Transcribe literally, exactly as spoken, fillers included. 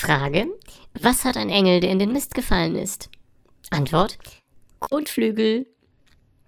Frage: Was hat ein Engel, der in den Mist gefallen ist? Antwort: Kotflügel.